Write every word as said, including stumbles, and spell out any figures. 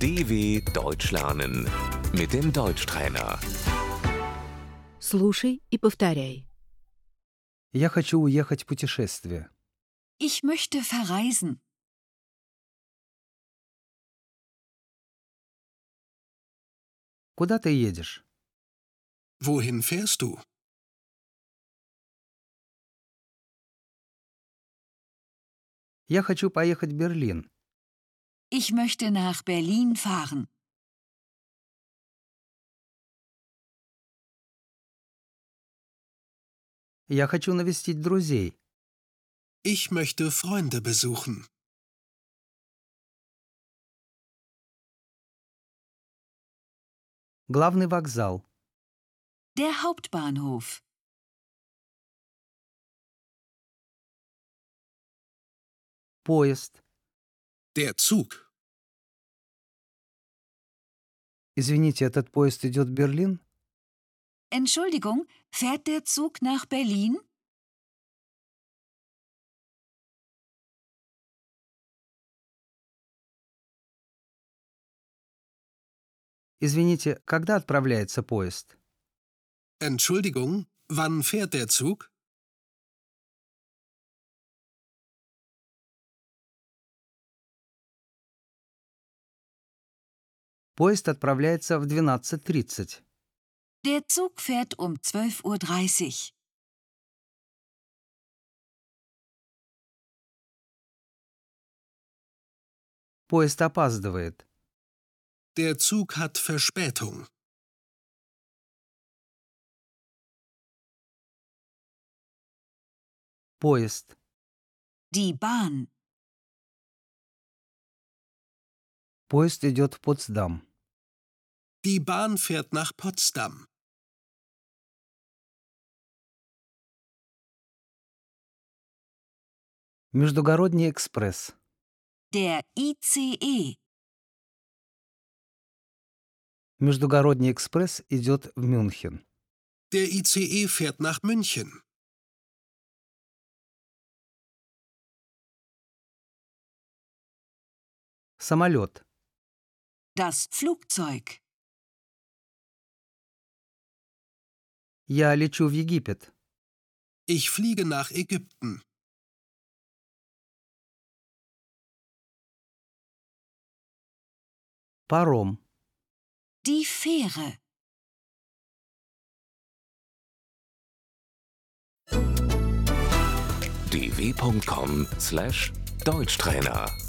D W Deutsch lernen mit dem Deutschtrainer. Слушай и повторяй. Я хочу уехать в путешествие. Ich möchte verreisen. Куда ты едешь? Wohin fährst du? Я хочу поехать в Берлин. Ich möchte nach Berlin fahren. Я хочу навестить друзей. Ich möchte Freunde besuchen. Главный вокзал. Der Hauptbahnhof. Поезд. Der Zug. Извините, этот поезд идет в Берлин? Entschuldigung, fährt der Zug nach Berlin? Извините, когда отправляется поезд? Entschuldigung, wann fährt der Zug? Поезд отправляется в двенадцать тридцать. Der Zug fährt um zwölf Uhr dreißig. Поезд опаздывает. Der Zug hat Verspätung. Поезд. Die Bahn. Поезд идет в Потсдам. Die Bahn fährt nach Potsdam. Междугородний экспресс. Der I C E. Междугородний экспресс идет в Мюнхен. Der I C E fährt nach München. Самолет. Das Flugzeug. Я лечу в Египет. Ich fliege nach Ägypten. Паром. Die Fähre. d w punkt com slash Deutschtrainer